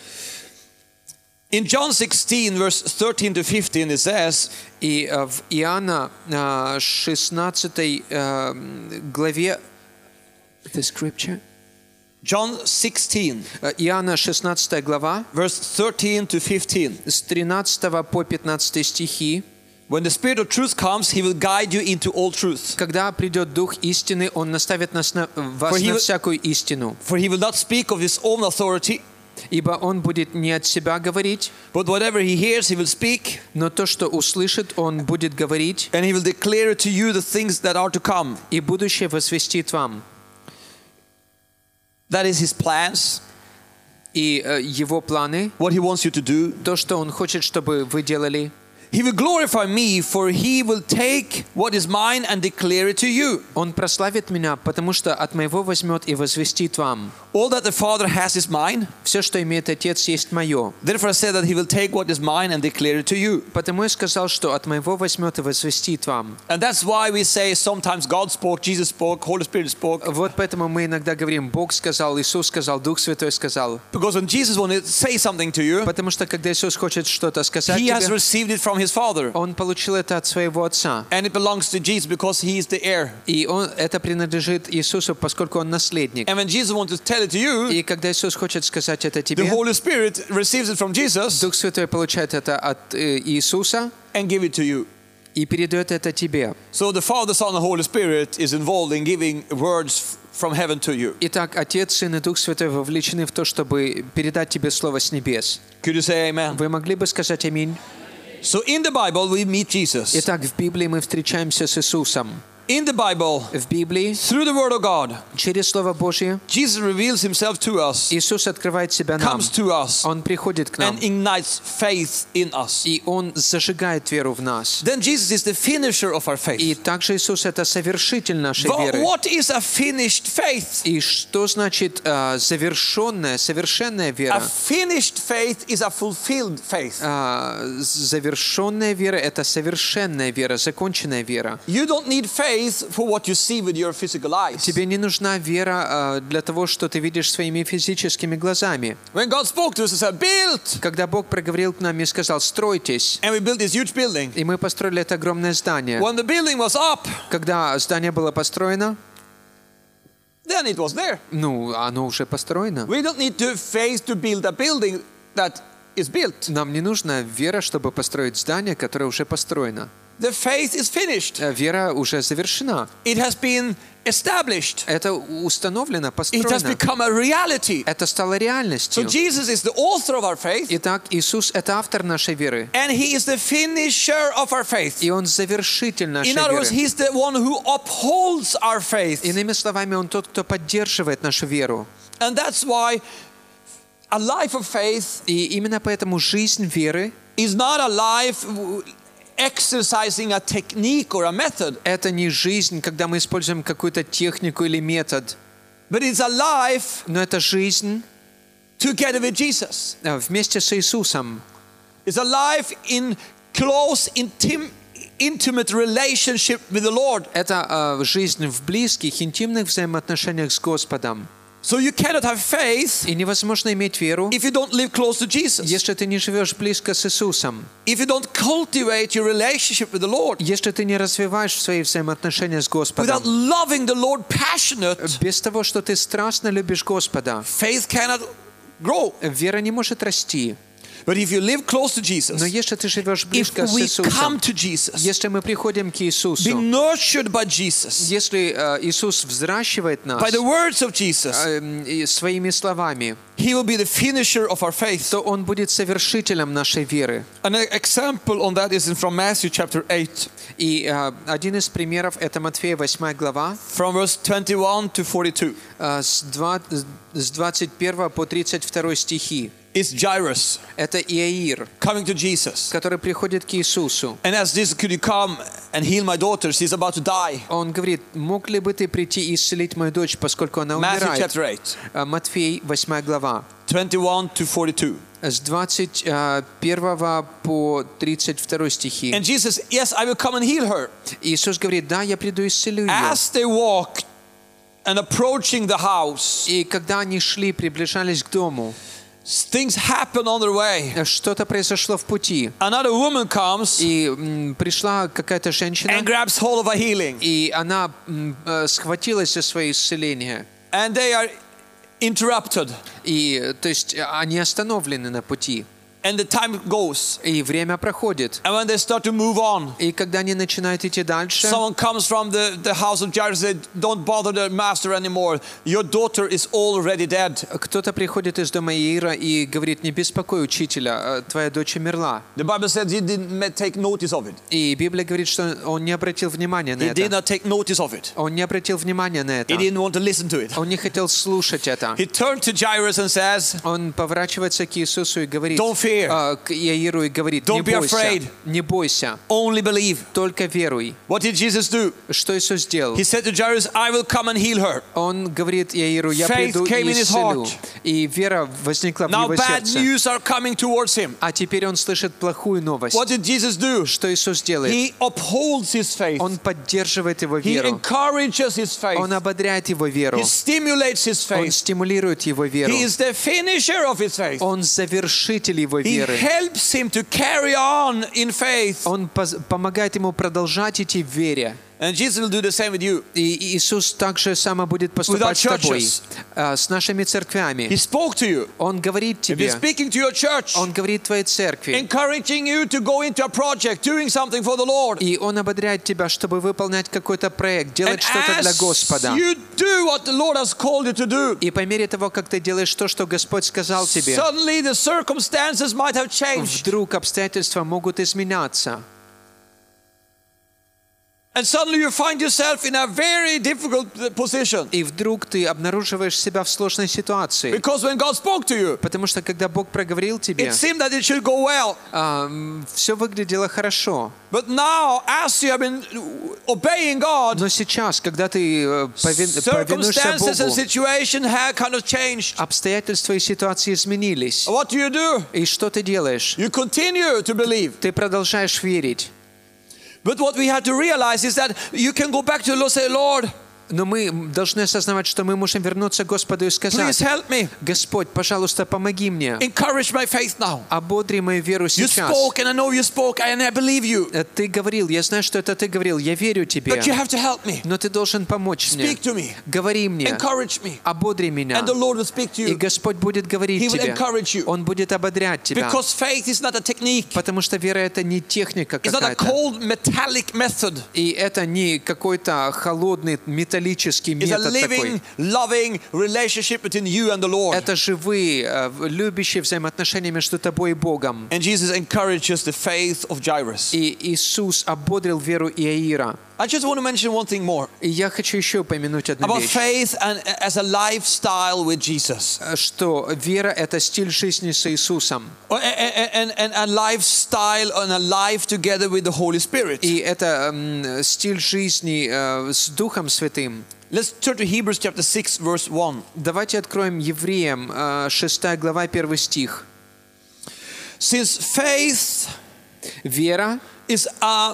In John sixteen, verse thirteen to fifteen, it says, И э, в Иоанна э, шестнадцатой э, главе, the scripture? John sixteen, Э, Иоанна шестнадцатая глава, verse thirteen to fifteen. с тринадцатого по пятнадцатый стихи. When the Spirit of truth comes, He will guide you into all truth. Когда придет Дух истины, Он наставит нас на, вас For he на will- всякую истину. For He will not speak of His own authority, Ибо Он будет не от себя говорить, but whatever He hears, He will speak, но то, что услышит, Он будет говорить, and He will declare to you the things that are to come. и будущее возвестит вам. That is His plans, И э, Его планы, what He wants you to do. то, что Он хочет, чтобы вы делали, He will glorify me, for He will take what is mine and declare it to you. Он прославит меня, потому что от моего возьмет и возвестит вам. All that the Father has is mine. Все, что имеет Отец, есть мое. Therefore I said that He will take what is mine and declare it to you. Потому я сказал, что от моего возьмет и возвестит вам. And that's why we say sometimes God spoke, Jesus spoke, Holy Spirit spoke. Вот поэтому мы иногда говорим, Бог сказал, Иисус сказал, Дух Святой сказал. Because when Jesus wanted to say something to you, Потому что когда Иисус хочет что-то сказать He has тебе, received it from His Father. Он получил это от своего Отца. And it belongs to Jesus because He is the heir. И он, это принадлежит Иисусу, поскольку Он наследник. And when Jesus wants to tell it to you, И когда Иисус хочет сказать это the тебе, Holy Spirit receives it from Jesus Дух Святой получает это от э, Иисуса and give it to you. и передает это тебе. So the Father, Son, and Holy Spirit is involved in giving words from heaven to you. Итак, Отец, Сын и Дух Святой вовлечены в то, чтобы передать тебе слово с небес. Could you say amen? Вы могли бы сказать аминь? So in the Bible we meet Jesus. Итак, в Библии мы встречаемся с Иисусом. In the Bible, В Библии, through the Word of God, через Слово Божье, Jesus reveals Himself to us, Иисус открывает себя нам. comes to us, Он приходит к нам. and ignites faith in us. И Он зажигает веру в нас. Then Jesus is the finisher of our И faith. также Иисус — это совершитель нашей But веры. what is a finished faith? И что значит э, завершенная, совершенная A вера? finished faith is a fulfilled faith. А, завершенная вера — это совершенная вера, законченная вера. You don't need faith for what you see with your physical eyes. Тебе не нужна вера а, для того, что ты видишь своими физическими глазами. When God spoke to us, He said, build! Когда Бог проговорил к нам и сказал: «Стройтесь», And we built this huge building. и мы построили это огромное здание. When the building was up, Когда здание было построено, then it was there. ну, оно уже построено. We don't need to faith to build a building that is built. Нам не нужна вера, чтобы построить здание, которое уже построено. the faith is finished. Вера уже завершена. It has been established. Это установлено, It has построено. become a reality. Это стало So реальностью. Jesus is the author of our faith, Итак, Иисус — это автор нашей веры. and He is the finisher of our faith. И Он завершитель нашей In other words, веры. He's the one who upholds our faith. Иными словами, Он тот, кто поддерживает нашу веру. And that's why a life of faith И именно поэтому жизнь веры is not a life exercising a technique or a method, — это не жизнь, когда мы используем какую-то технику или метод, but it's a life но это жизнь together with Jesus. э, вместе с Иисусом. It's a life in close, intim- intimate relationship with the Lord. Это э, жизнь в близких, интимных взаимоотношениях с Господом. So you cannot have faith И невозможно иметь веру, if you don't live close to Jesus. если ты не живешь близко с Иисусом, If you don't cultivate your relationship with the Lord если ты не развиваешь свои взаимоотношения с without Господом, loving the Lord passionate, без того, что ты страстно любишь Господа, faith cannot grow. вера не может расти. But if you live close to Jesus, Но если ты живешь if близко с we Иисусом, come to Jesus, если мы приходим к be Иисусу, nurtured by Jesus, если э, Иисус взращивает нас by the words of Jesus, э, и своими словами, He will be the finisher of our faith. то Он будет совершителем нашей веры. An example on that is from Matthew chapter eight, И э, один из примеров — это Матфея восьмая глава, from verse twenty-one to forty-two. э, с два- с двадцать первого по тридцать второй стихи. It's Jairus Это Иаир, coming to Jesus. который приходит к Иисусу. And as this, could you come and heal my daughter? She's about to die. Он говорит: мог ли бы ты прийти и исцелить мою дочь, поскольку она Matthew умирает? chapter eight, Э, Матфей восьмая глава, twenty-one to forty-two. с двадцать первого по тридцать второй стихи. And Jesus, yes, I will come and heal her. Иисус говорит: да, я приду и исцелю ее. As they walked and approaching the house, И когда они шли, приближались к дому, things happen on their way. что-то произошло в пути. Another woman comes И м, пришла какая-то женщина, and grabs hold of a healing. и она м, э, схватилась за свое исцеление. And they are interrupted. И, э, то есть, э, они остановлены на пути. And the time goes. И время проходит. And when they start to move on, И когда они начинают идти дальше, someone comes from the, the house of Jairus and says, don't bother the master anymore. Your daughter is already dead. кто-то приходит из дома Иаира и говорит: не беспокой учителя, э, твоя дочь умерла. The Bible says he didn't ma- take notice of it. И Библия говорит, что он не обратил внимания на He did это. not take notice of it. Он не обратил внимания на это. He didn't want to listen to it. Он не хотел слушать это. He turned to Jairus and says, Он поворачивается к Иисусу и говорит, Don't fear. э, к Иаиру и говорит: не Don't be бойся, afraid. не бойся, only believe. только веруй. What did Jesus do? Что Иисус сделал? He said to Jairus, I will come and heal her. Он говорит Иаиру: я Faith приду came и in his исцелю. heart. И вера возникла в Now его bad сердце. news are coming towards him. А теперь он слышит плохую новость. What did Jesus do? Что Иисус делает? He upholds his faith. Он поддерживает его He веру. encourages his faith. Он ободряет его веру. He stimulates his Он faith. стимулирует его веру. He is the finisher of his faith. Он завершитель его He веры. helps him to carry on in faith. Он поз- помогает ему продолжать идти в вере. And Jesus will do the same with you. И Иисус также само будет поступать с With our тобой, churches. а, с нашими церквями. He spoke to you. Он говорит If he's тебе, speaking to your church, Он говорит твоей церкви, encouraging you to go into a project, doing something for the Lord. и Он ободряет тебя, чтобы выполнять какой-то проект, делать And что-то для as Господа. you do what the Lord has called you to do, И по мере того, как ты делаешь то, что Господь сказал тебе, suddenly the circumstances might have changed. вдруг обстоятельства могут изменяться. And suddenly you find yourself in a very difficult position. И вдруг ты обнаруживаешь себя в сложной ситуации. Because when God spoke to you, Потому что когда Бог проговорил тебе, it seemed that it should go well. все выглядело хорошо. But now, as you have been obeying God, Но сейчас, когда ты э, повин- повинуешься circumstances and Богу, situation have kind of changed. обстоятельства и ситуации изменились. What do you do? И что ты делаешь? You continue to believe. Ты продолжаешь верить. But what we have to realize is that you can go back to the Lord and say, Lord, Но мы должны осознавать, что мы можем вернуться к Господу и сказать: Please help me. Господь, пожалуйста, помоги мне. Encourage my faith now. Ободри мою веру You сейчас. spoke, and I know you spoke, and I believe you. Ты говорил, я знаю, что это ты говорил, я верю тебе. But you have to help me. Но ты должен помочь мне. Speak to me. Говори мне. Encourage me. Ободри меня. And the Lord will speak to И you. Господь будет говорить He will тебе. encourage you. Он будет ободрять тебя. Because faith is not a technique. Потому что вера — это не техника It's not a какая-то. cold metallic method. И это не какой-то холодный металлический It's a метод living, такой. loving relationship between you and the Lord. Это живые, э, любящие взаимоотношения между тобой и Богом. And Jesus encourages the faith of Jairus. И Иисус ободрил веру Иаира. I just want to mention one thing more И я хочу еще упомянуть одну about вещь. faith and as a lifestyle with Jesus. Что вера — это стиль жизни с Иисусом. And, and, and a lifestyle and a life together with the Holy Spirit. И это м, стиль жизни э, с Духом Святым. Let's turn to Hebrews chapter six, verse one. Давайте откроем Евреям, э, шестая глава, первый стих. Since faith Вера is a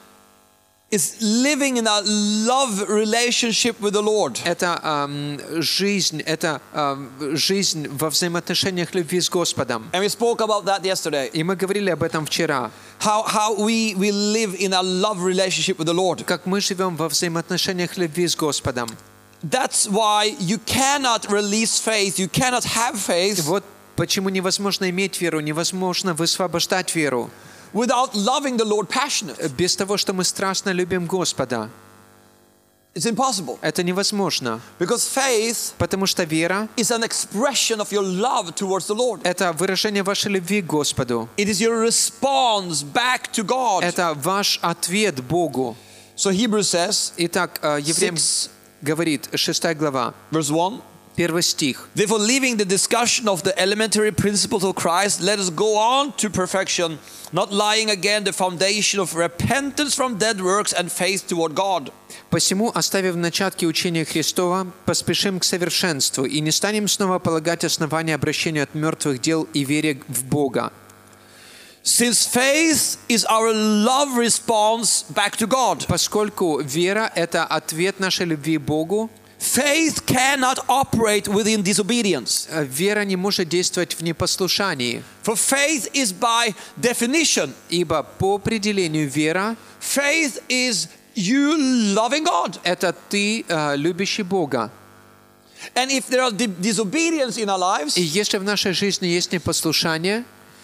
is living in a love relationship with the Lord. — это эм, жизнь, это эм, жизнь во взаимоотношениях любви с Господом. And we spoke about that yesterday. И мы говорили об этом вчера. How how we we live in a love relationship with the Lord. Как мы живем во взаимоотношениях любви с Господом. That's why you cannot release faith. You cannot have faith Вот почему невозможно иметь веру, невозможно высвобождать веру without loving the Lord passionately. без того, что мы страстно любим Господа. It's impossible. Это невозможно. Because faith Потому что вера is an expression of your love towards the Lord. — это выражение вашей любви к Господу. It is your response back to God. Это ваш ответ Богу. So Hebrews says, Итак, э, Евреям six, говорит, шестая глава, verse one. первый стих. Therefore, leaving the discussion of the elementary principles of Christ, let us go on to perfection, not laying again the foundation of repentance from dead works and faith toward God. «Посему, оставив начатки учения Христова, поспешим к совершенству и не станем снова полагать основания обращению от мертвых дел и вере в Бога». Since faith is our love response back to God, Поскольку вера — это ответ нашей любви к Богу, faith cannot operate within disobedience. э, вера не может действовать в непослушании. For faith is by definition. Ибо по определению вера Faith is you loving God. — это ты, э, любящий Бога. And if there are di- disobedience in our lives, И если в нашей жизни есть непослушание,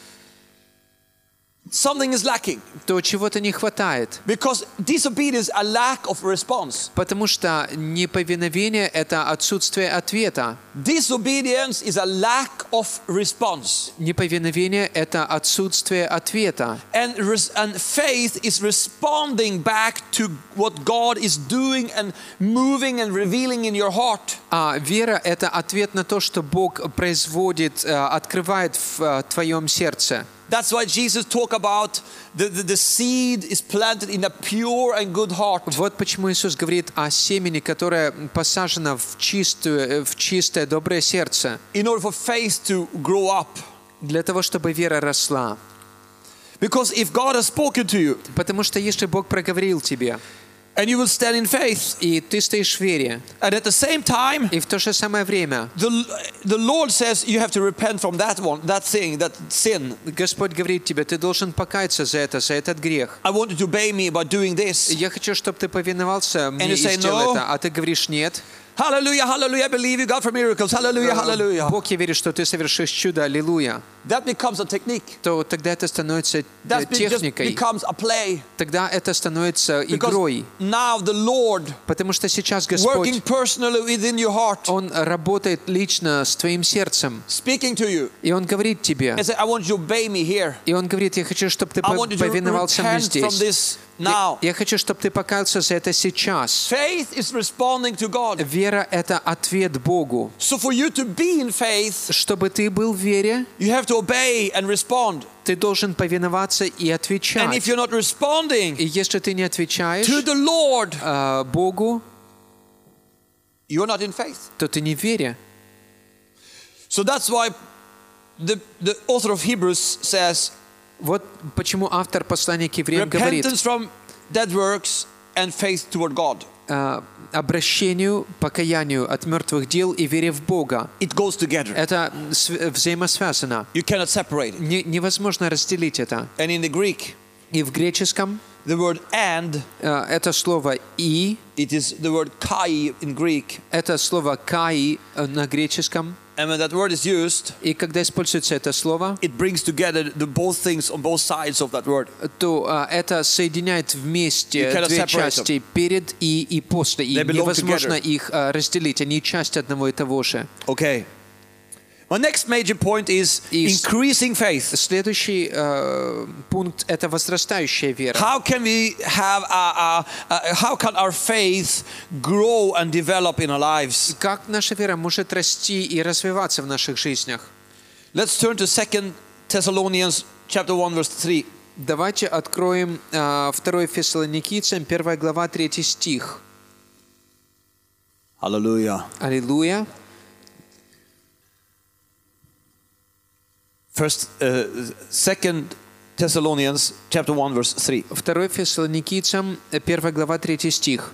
something is lacking. то чего-то не хватает. Because disobedience is a lack of response. Потому что неповиновение — это отсутствие ответа. Disobedience is a lack of response. Неповиновение — это отсутствие ответа. And, res- and faith is responding back to what God is doing and moving and revealing in your heart. А вера — это ответ на то, что Бог производит, э, открывает в э, твоем сердце. That's why Jesus talked about the, the, the seed is planted in a pure and good heart. Вот почему Иисус говорит о семени, которое посажено в чистую, в чистое, доброе сердце, In order for faith to grow up. для того, чтобы вера росла. Because if God has spoken to you Потому что если Бог проговорил тебе, and you will stand in faith, и ты стоишь в вере, and at the same time, и в то же самое время the, the Lord says you have to repent from that one, that thing, that sin. Господь говорит тебе, ты должен покаяться за это, за этот грех. I want you to obey me by doing this. Я хочу, чтобы ты повиновался мне you и say сделал no. это, а ты говоришь нет. Hallelujah, hallelujah, I believe you, God, for miracles. Hallelujah, hallelujah. Бог, я верю, что ты совершишь чудо, аллилуйя. That becomes a technique. То тогда это становится э, That be- just техникой. becomes a play. Тогда это становится Because игрой. now the Lord Потому что сейчас working Господь, personally within your heart, Он работает лично с твоим сердцем. speaking to you, И Он говорит тебе, and say, I want you to obey me here. и Он говорит, я хочу, чтобы ты I want you to повиновался мне repent from здесь. this Я, now. я хочу, чтобы ты покаялся за это сейчас. Faith is responding to God. Вера — это ответ Богу. So for you to be in faith, Чтобы ты был в вере, you have to obey and respond. ты должен повиноваться и And if отвечать. you're not responding И если ты не отвечаешь to the Lord, э, Богу, you're not in faith. то ты не в вере. So that's why the, the author of Hebrews says, Вот почему автор послания к евреям говорит, repentance from dead works and faith toward God. э, обращению, покаянию от мертвых дел и вере в Бога. It goes together. Это св- взаимосвязано. You cannot separate it. Не- невозможно разделить это. And in the Greek, И в греческом the word and, э, это слово «и», it is the word kai in Greek. это слово «каи» э, на греческом. And when that word is used, И когда используется это слово, it brings together the both things on both sides of that word. то а, это соединяет You вместе cannot две separate части перед и и после. И They belong невозможно together. их а, разделить. Они часть одного и того же. Okay. My next major point is И с- increasing faith. Следующий э, пункт — это возрастающая вера. How can we have a, a, a, how can our faith grow and develop in our lives? Как наша вера может расти и развиваться в наших жизнях? Let's turn to Second Thessalonians chapter one verse three. Давайте откроем э, второе Фессалоникийцам, первая глава, третий стих. Hallelujah. Аллилуйя. First, uh, Second Thessalonians chapter one verse three. второе Фессалоникийцам, э, первая глава, третий стих.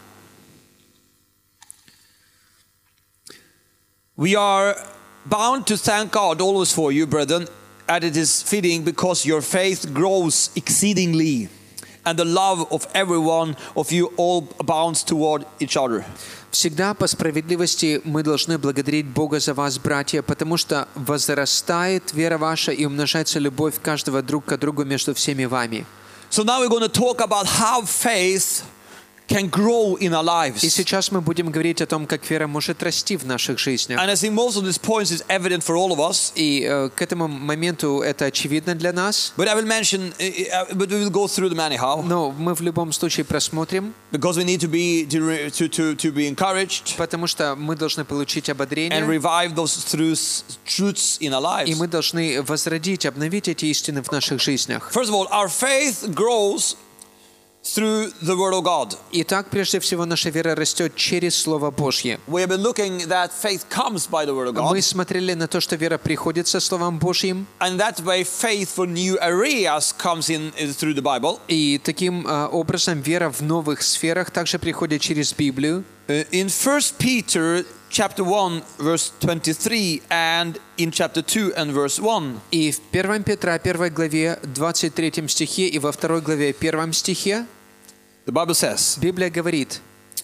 We are bound to thank God always for you, brethren, and it is fitting because your faith grows exceedingly, and the love of every one of you all abounds toward each other. Всегда по справедливости мы должны благодарить Бога за вас, братья, потому что возрастает вера ваша и умножается любовь каждого друг к другу между всеми вами. So now we're going to talk about how faith can grow in our И lives. сейчас мы будем говорить о том, как вера может расти в наших жизнях. And I think most of these points is evident for all of us. И э, к этому моменту это очевидно для нас, But I will mention, uh, uh, but we will go through them anyhow, но мы в любом случае просмотрим, because we need to be to to to, to be encouraged потому что мы должны получить and ободрение, revive those truths truths in our и lives. мы должны возродить, обновить эти истины в наших жизнях. First of all, our faith grows through the Word of God. Итак, прежде всего, наша вера растет через Слово Божье. We have been looking that faith comes by the Word of God, Мы смотрели на то, что вера приходит со Словом Божьим, and that way faith for new areas comes in uh, through the Bible. и таким а, образом вера в новых сферах также приходит через Библию. Uh, in First Peter chapter one verse twenty-three and in chapter two and verse one. И в первом Петра, первой главе, двадцать третьем стихе, и во второй главе, первом стихе, The Bible says, Библия говорит: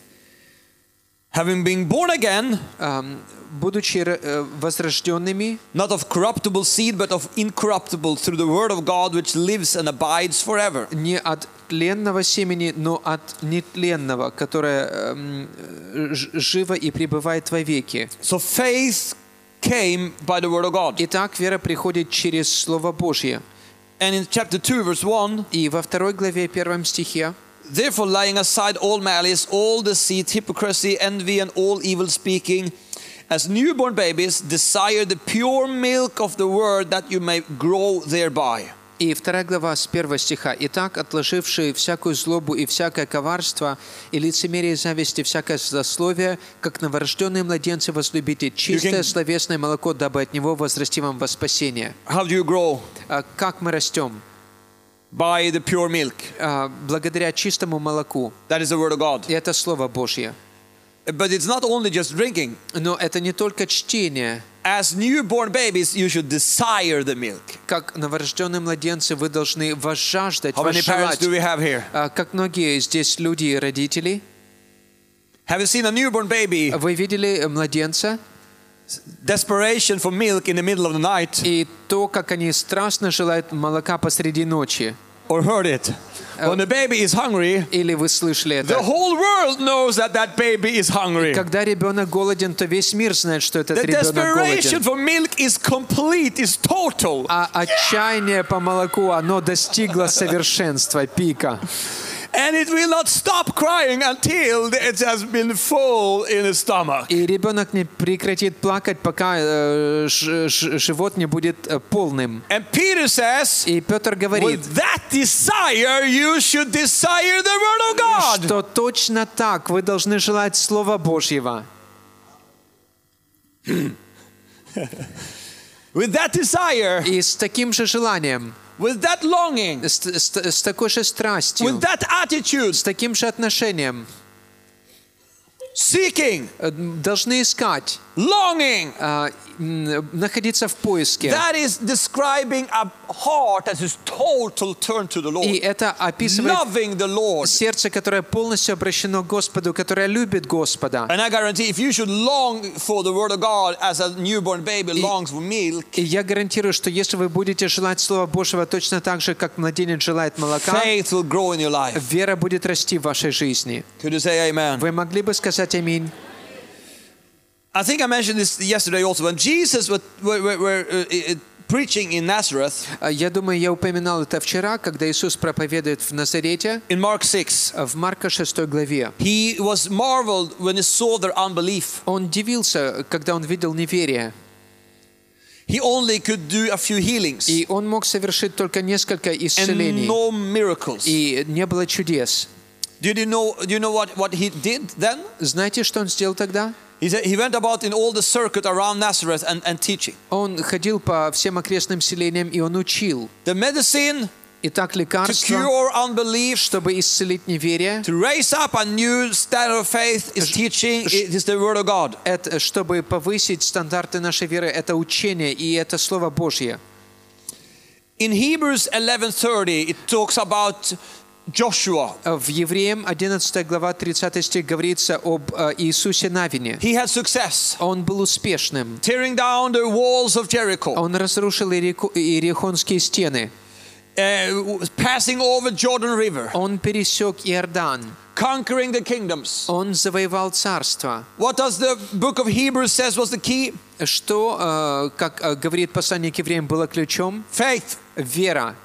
having been born again, ам, будучи э, возрожденными, not of corruptible seed, but of incorruptible, through the word of God, which lives and abides forever. не от тленного семени, но от нетленного, которое эм, ж- живо и пребывает вовеки. So faith came by the word of God. Итак, вера приходит через Слово Божье. And in chapter two, verse one, И во второй главе, первом стихе: therefore laying aside all malice, all deceit, hypocrisy, envy, and all evil speaking, as newborn babies, desire the pure milk of the word, that you may grow thereby. И вторая глава с первого стиха. «Итак, отложившие всякую злобу и всякое коварство, и лицемерие, зависть, и всякое злословие, как новорожденные младенцы возлюбите чистое can- словесное молоко, дабы от него возрасти вам во спасение». How do you grow? А как мы растем? By the pure milk. А, благодаря чистому молоку. That is the word of God. И это Слово Божье. But it's not only just drinking. Но это не только чтение. As newborn babies, you should desire the milk. Как новорожденные младенцы вы должны возжаждать, How many parents возжелать. do we have here? А, как многие здесь люди и родители. Have you seen a newborn baby? Вы видели младенца? Desperation for milk in the middle of the night, И то, как они страстно желают молока посреди ночи. or heard it? When the baby is hungry, Или вы слышали the это? whole world knows that that baby is hungry. Когда ребенок голоден, то весь мир знает, что этот The ребенок desperation голоден. for milk is complete, is total. А отчаяние по молоку, оно достигло совершенства, пика. And it will not stop crying until it has been full in the stomach. И ребенок не прекратит плакать, пока э, ж- ж- живот не будет э, полным. And Peter says, И Петр говорит, with that desire, you should desire the word of God. что точно так вы должны желать Слова Божьего. With that desire, И с таким же желанием, with that longing, с, с- с такой же страстью, with that attitude, с таким же отношением, seeking, э, должны искать, longing. а, м, находиться в поиске. That is describing a heart that is total turn to the И Lord, это описывает loving the Lord. сердце, которое полностью обращено к Господу, которое любит Господа. And I guarantee, if you should long for the Word of God as a newborn baby longs for milk, И я гарантирую, что если вы будете желать Слова Божьего точно так же, как младенец желает молока, faith will grow in your life. вера будет расти в вашей жизни. Could you say amen? Вы могли бы сказать аминь? I think I mentioned this yesterday also. When Jesus was were, were, were, uh, uh, preaching in Nazareth, Я думаю, я упоминал это вчера, когда Иисус проповедует в Назарете, in Mark six, в Марка шестой главе. he was marveled when he saw their unbelief. Он удивился, когда он видел неверие. He only could do a few healings И он мог совершить только несколько and исцелений. no miracles. И не было чудес. Did you know? Do you know what, what he did then? Знаете, что он сделал тогда? He said he went about in all the circuit around Nazareth and, and teaching. Он ходил по всем окрестным селениям, и он учил. The medicine Итак, to лекарство, cure unbelief, чтобы исцелить неверие, to raise up a new standard of faith is teaching. It is the Word of God. это, чтобы повысить стандарты нашей веры, это учение, и это Слово Божье. In Hebrews eleven thirty, it talks about Joshua. В Евреям одиннадцатая глава тридцатый стих говорится об э, Иисусе Навине. He had success, Он был успешным. tearing down the walls of Jericho, Он разрушил Иерико- Иерихонские стены. uh, passing over Jordan River, Он пересек Иордан. conquering the kingdoms. Он завоевал царство. What does the book of Hebrews says was the key? Что, э, как э, говорит послание к евреям, было ключом? Faith. Вера.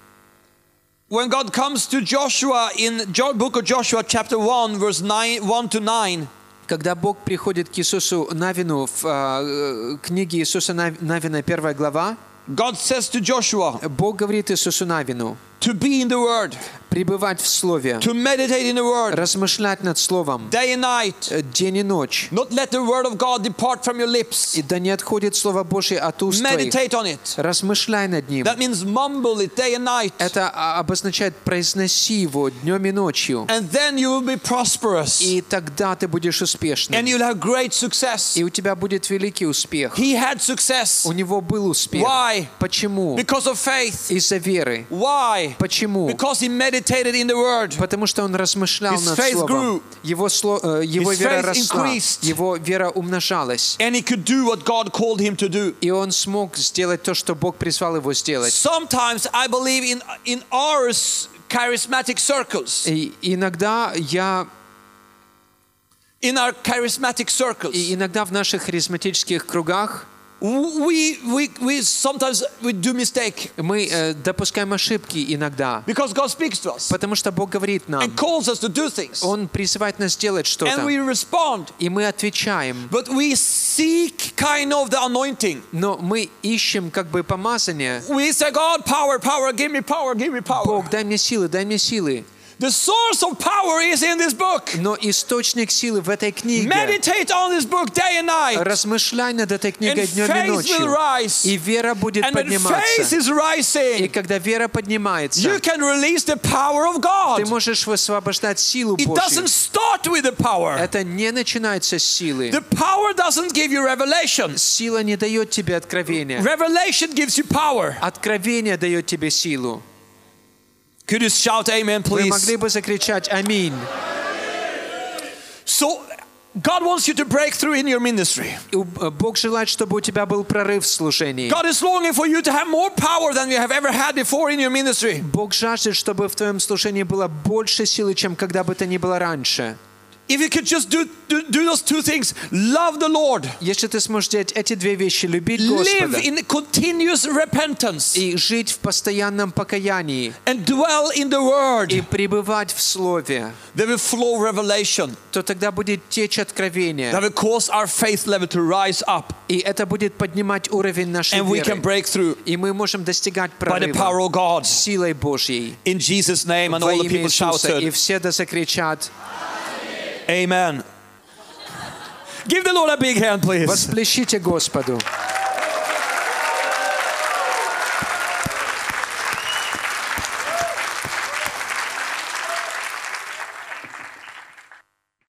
When God comes to Joshua in Jo- book of Joshua chapter one verse nine, one to nine, Когда Бог приходит к Иисусу Навину в э, книге Иисуса Нав- Навина, первая глава, God says to Joshua Бог говорит Иисусу Навину to be in the Word, пребывать в Слове, to meditate in the Word размышлять над Словом day and night, э, день и ночь. not let the Word of God depart from your lips. И да не отходит Слово Божье от уст твоих. Meditate on it. Размышляй над ним. That means mumble it day and night. Это а, обозначает произноси его днем и ночью. And then you will be prosperous. И тогда ты будешь успешным. And you'll have great success. И у тебя будет великий успех. He had success. У него был успех. Why? Почему? Because of faith. Из-за веры. Why? Почему? Because he meditated in the Word. Потому что он размышлял His над faith Словом. grew. Его, сло- э, его His вера faith росла. increased. Его вера умножалась. And he could do what God called him to do. И он смог сделать то, что Бог призвал его сделать. Sometimes I believe in, in our s- charismatic circles. И иногда я, In our charismatic circles. и иногда в наших харизматических кругах We, we, we sometimes we do mistake. мы э, допускаем ошибки иногда. Because God speaks to us. Потому что Бог говорит нам. And calls us to do things. Он призывает нас делать And что-то. we respond. И мы отвечаем. But we seek kind of the anointing. Но мы ищем как бы помазание. We say, God, power, power, give me power, give me power. Бог, дай мне силы, дай мне силы. The source of power is in this book. Но источник силы в этой книге. Meditate on this book day and night. Размышляй над этой книгой And днем и faith will ночью. rise. И вера будет And when faith подниматься. is И rising, когда вера поднимается, you can release the power of ты God. можешь высвобождать силу It Божью. doesn't start with the power. Это не начинается с силы. The power doesn't give you revelation. Сила не дает тебе откровения. Revelation gives you power. Откровение дает тебе силу. Could you shout amen, Вы please? могли бы закричать «Аминь». So, God wants you to break through in your ministry. И Бог желает, чтобы у тебя был прорыв в служении. God is longing for you to have more power than you have ever had before in your ministry. Бог жаждет, чтобы в твоем служении было больше силы, чем когда бы то ни было раньше. If you could just do, do, do those two things, love the Lord, Если ты сможешь делать эти две вещи, любить live Господа in continuous repentance, и жить в постоянном покаянии, and dwell in the Word, и пребывать в Слове, there will flow revelation. то тогда будет течь откровение. That will cause our faith level to rise up, И это будет поднимать уровень нашей and we can веры. break through И мы можем достигать by the прорыва power of God. силой Божьей. In Jesus' name, and Во all the имя people Иисуса. И shouted, все да закричат. Amen. Give the Lord a big hand, please. Восплещите Господу.